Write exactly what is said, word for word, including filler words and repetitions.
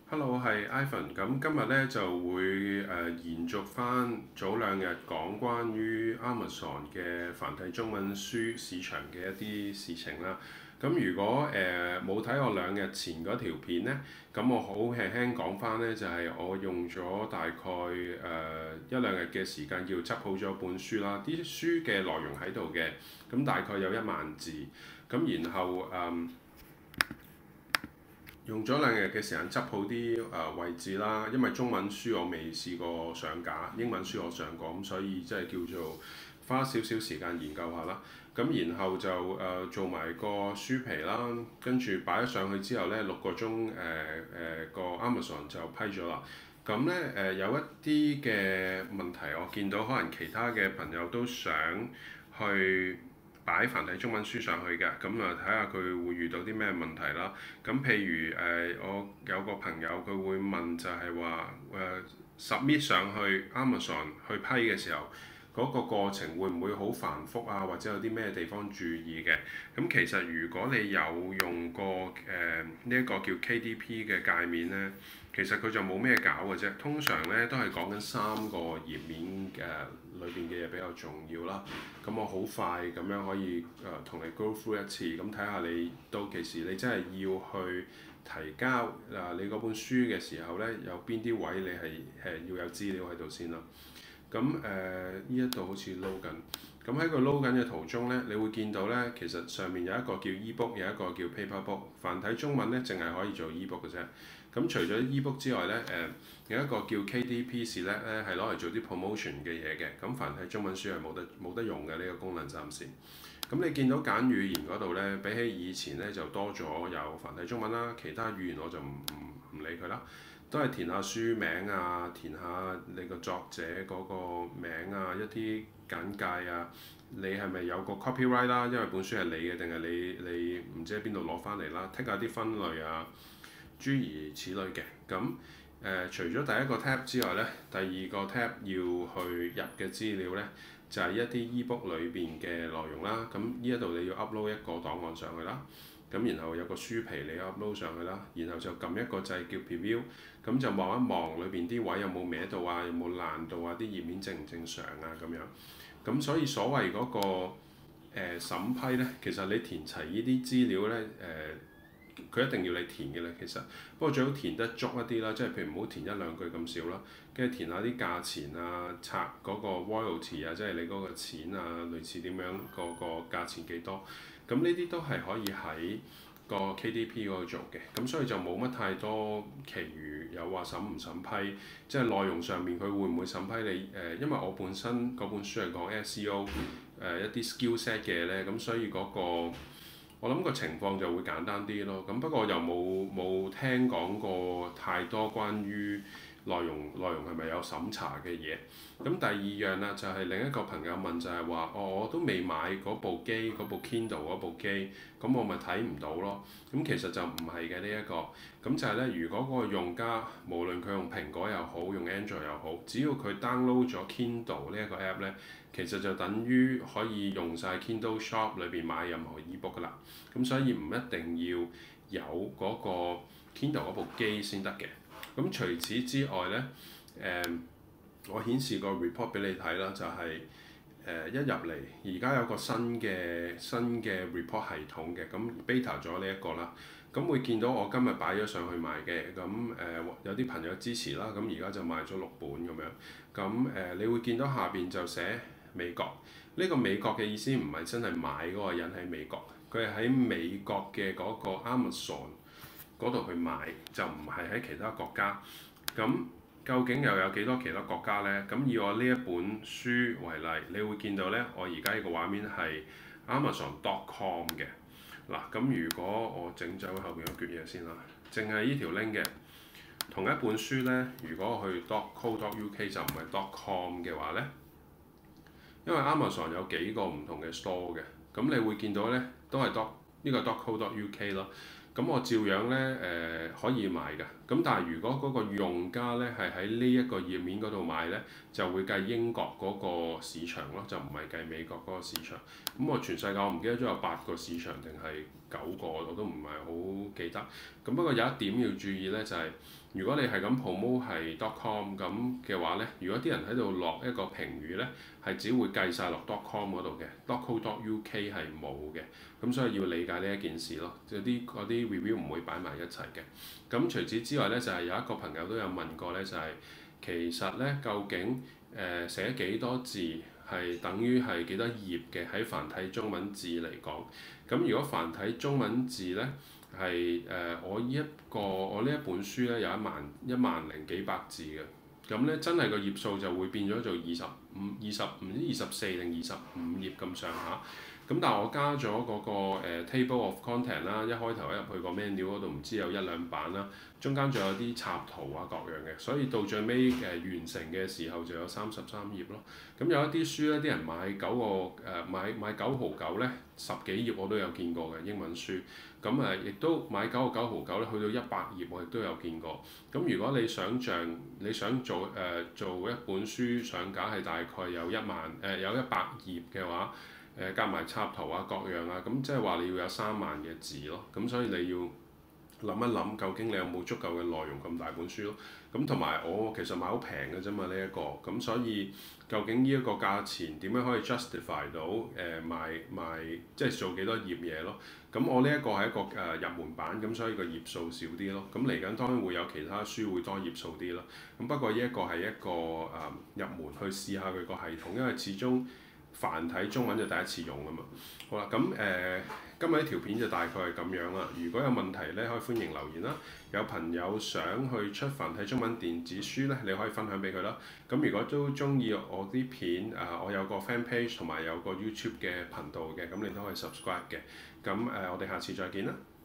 Hello，係 Ivan。咁今日咧就會誒、呃延續翻早兩日講關於 Amazon 嘅繁體中文書市場嘅一啲事情啦。咁如果誒冇睇我兩日前嗰條片咧，咁我好輕輕講翻咧，就係、是、我用咗大概誒、呃一兩日嘅時間，叫執好咗本書啦。啲書嘅內容喺度嘅，咁大概有一萬字。咁然後誒。嗯用咗兩日嘅時間執好啲誒、呃、位置啦，因為中文書我未試過上架，英文書我上過，咁所以即係叫做花少少時間研究下啦。咁然後就誒、呃、做埋個書皮啦，跟住擺咗上去之後咧，六個鐘誒誒個 Amazon 就批咗啦。咁咧誒有一啲嘅問題，我見到可能其他嘅朋友都想去擺繁體中文書上去嘅，咁啊睇下佢會遇到啲咩問題啦。咁譬如誒、呃，我有個朋友佢會問就係話誒 submit 上去 Amazon 去批嘅時候，嗰、個過程會唔會好繁複啊？或者有啲咩地方注意嘅？咁其實如果你有用過誒呢一個叫 K D P 嘅界面咧，其實佢就冇咩搞嘅啫。通常咧都係講緊三個頁面嘅裏邊嘅嘢比較重要啦。咁我好快咁樣可以誒同、呃、你 go through 一次，咁睇下你到其時你真係要去提交啊、呃、你嗰本書嘅時候咧，有邊啲位你係誒要有資料喺度先啦。咁誒呢一度好似撈緊，咁喺個撈緊嘅途中咧，你會見到咧，其實上面有一個叫 ebook，有一個叫 paper book。繁體中文咧，淨係可以做 ebook 嘅啫。咁除咗 ebook 之外咧，誒、呃、有一個叫 K D P Select 咧，係攞嚟做啲 promotion 嘅嘢嘅。咁繁體中文書係冇得冇得用嘅呢、這個功能暫時。咁你見到揀語言嗰度咧，比起以前咧就多咗有繁體中文啦，其他語言我就唔唔唔理佢啦。都係填下書名啊，填下你個作者嗰個名啊，一啲簡介啊，你係咪有個 copyright 啦？因為本書係你嘅，定係你你唔知喺邊度攞翻嚟啦？剔下啲分類啊，諸如此類嘅。咁誒、呃，除咗第一個 tab 之外咧，第二個 tab 要去入嘅資料咧，就係、是、一啲 ebook 裏邊嘅內容啦。咁呢一度你要 upload 一個檔案上去啦。咁然後有個書皮你 upload 上去啦，然後就撳一個掣叫 preview，咁就望一望裏邊啲位有冇歪到啊，有冇爛到啊，啲頁面正唔正常啊咁樣。咁所以所謂嗰、個誒、呃、審批咧，其實你填齊呢啲資料咧，誒、呃、佢一定要你填嘅咧，其實。不過最好填得足一啲啦，即係譬如唔好填一兩句咁少啦，跟住填下啲價錢啊，拆嗰個 royalty 啊，即係你嗰個錢啊，類似點樣個個價錢幾多。咁呢啲都係可以喺個 K D P 嗰度做嘅，咁所以就冇乜太多其餘有話審唔審批，即係內容上面佢會唔會審批你誒、呃？因為我本身嗰本書係講 S E O 誒、呃、一啲 skill set 嘅咧，咁所以嗰、個我諗個情況就會簡單啲咯。咁不過又冇冇聽講過太多關於內容內容係咪有審查嘅嘢？咁第二樣啦，就係、是、另一個朋友問就係話：哦，我都未買嗰部機，嗰部 Kindle 嗰部機，咁我咪睇唔到咯。咁其實就唔係嘅呢一個，咁就係咧，如果嗰個用家無論佢用蘋果又好，用 Android 又好，只要佢 download 咗 Kindle 呢一個 app 咧，其實就等於可以用晒 Kindle Shop 裏邊買任何 ebook 噶啦。咁所以唔一定要有嗰個 Kindle 嗰部機先得嘅。咁除此之外咧，誒、嗯。我顯示個 report 俾你睇啦，就係、是、誒、呃、一入嚟，而家有個新嘅新嘅 report 系統嘅，咁 beta 咗呢一個啦，咁會見到我今日擺咗上去賣嘅，咁誒、呃、有啲朋友支持啦，咁而家就賣咗六本咁樣，咁誒、呃、你會見到下邊就寫美國，呢、這個美國嘅意思唔係真係買嗰個人喺美國，佢係喺美國嘅嗰個 Amazon 嗰度去買，就唔係喺其他國家，咁。究竟又有幾多其他國家呢？咁以我呢一本書為例，你會見到呢，我而家呢個畫面係 Amazon dot com 嘅。嗱，咁如果我整走後邊嗰橛嘢先啦，淨係呢條 link 嘅同一本書呢，如果我去 dot co dot uk 就唔係 dot com 嘅話呢，因為 Amazon 有幾個唔同嘅 store 嘅，咁你會見到呢，都係 dot 呢個 dot co dot uk 咯。咁我照樣咧誒、呃、可以買㗎，咁但係如果嗰個用家咧係喺呢一個頁面嗰度買咧，就會計英國嗰個市場咯，就唔係計美國嗰個市場。咁我全世界我唔記得咗有八個市場定係九個，我都唔係好記得。 咁不過有一點要注意呢，就係、是、如果你係咁 promote 係 dot com 咁嘅話呢，如果啲人喺度落一個評語呢，係只會計晒落 dot com 嗰度嘅，dot co dot uk 係冇嘅。咁所以要理解呢一件事咯，即係啲嗰啲 review 唔會擺埋一齊嘅。咁除此之外呢，就係、是、有一個朋友都有問過呢，就係、是、其實呢，究竟誒、呃、寫幾多字係等於係幾多頁嘅喺繁體中文字嚟講？咁如果繁體中文字呢，係誒、呃、我呢一個我呢一本書呢，有一萬一萬零幾百字嘅，咁呢，真係個頁數就會變咗做二十五、二十唔知二十四定二十五頁咁上下。咁但係我加咗嗰、那個、呃、table of content 啦，一開頭一入去個 menu 嗰度唔知有一兩版啦，中間仲有啲插圖啊各樣嘅，所以到最尾誒、呃、完成嘅時候就有三十三頁咯。咁有一啲書咧，啲人買九個誒、呃、買買九毫九咧，十幾頁我都有見過嘅英文書。咁誒亦都買九個九毫九咧，去到一百頁我亦都有見過。咁如果你想像你想做誒、呃、做一本書上架係大概有一萬誒、呃、有一百頁嘅話，誒夾埋插圖啊各樣啊，咁即係話你要有三萬嘅字咯。咁所以你要諗一諗，究竟你有冇足夠嘅內容咁大本書咯？咁同埋我其實買好平嘅啫嘛呢一個，咁所以究竟呢一個價錢點樣可以 justify 到誒、呃、賣賣即係做幾多頁嘢咯？咁我呢一個係一個誒、呃、入門版，咁所以個頁數少啲咯。咁嚟緊當然會有其他書會多頁數啲咯。咁不過呢一個係一個誒、呃、入門去試下佢個系統，因為始終繁體中文就第一次用啊嘛。好啦，咁誒、呃、今日呢條片就大概係咁樣啦。如果有問題咧，可以歡迎留言啦。有朋友想去出繁體中文電子書咧，你可以分享俾佢啦。咁如果都中意我啲片，啊、呃、我有個 fan page 同埋有個 YouTube 嘅頻道嘅，咁你都可以 subscribe 嘅。咁誒、呃，我哋下次再見啦。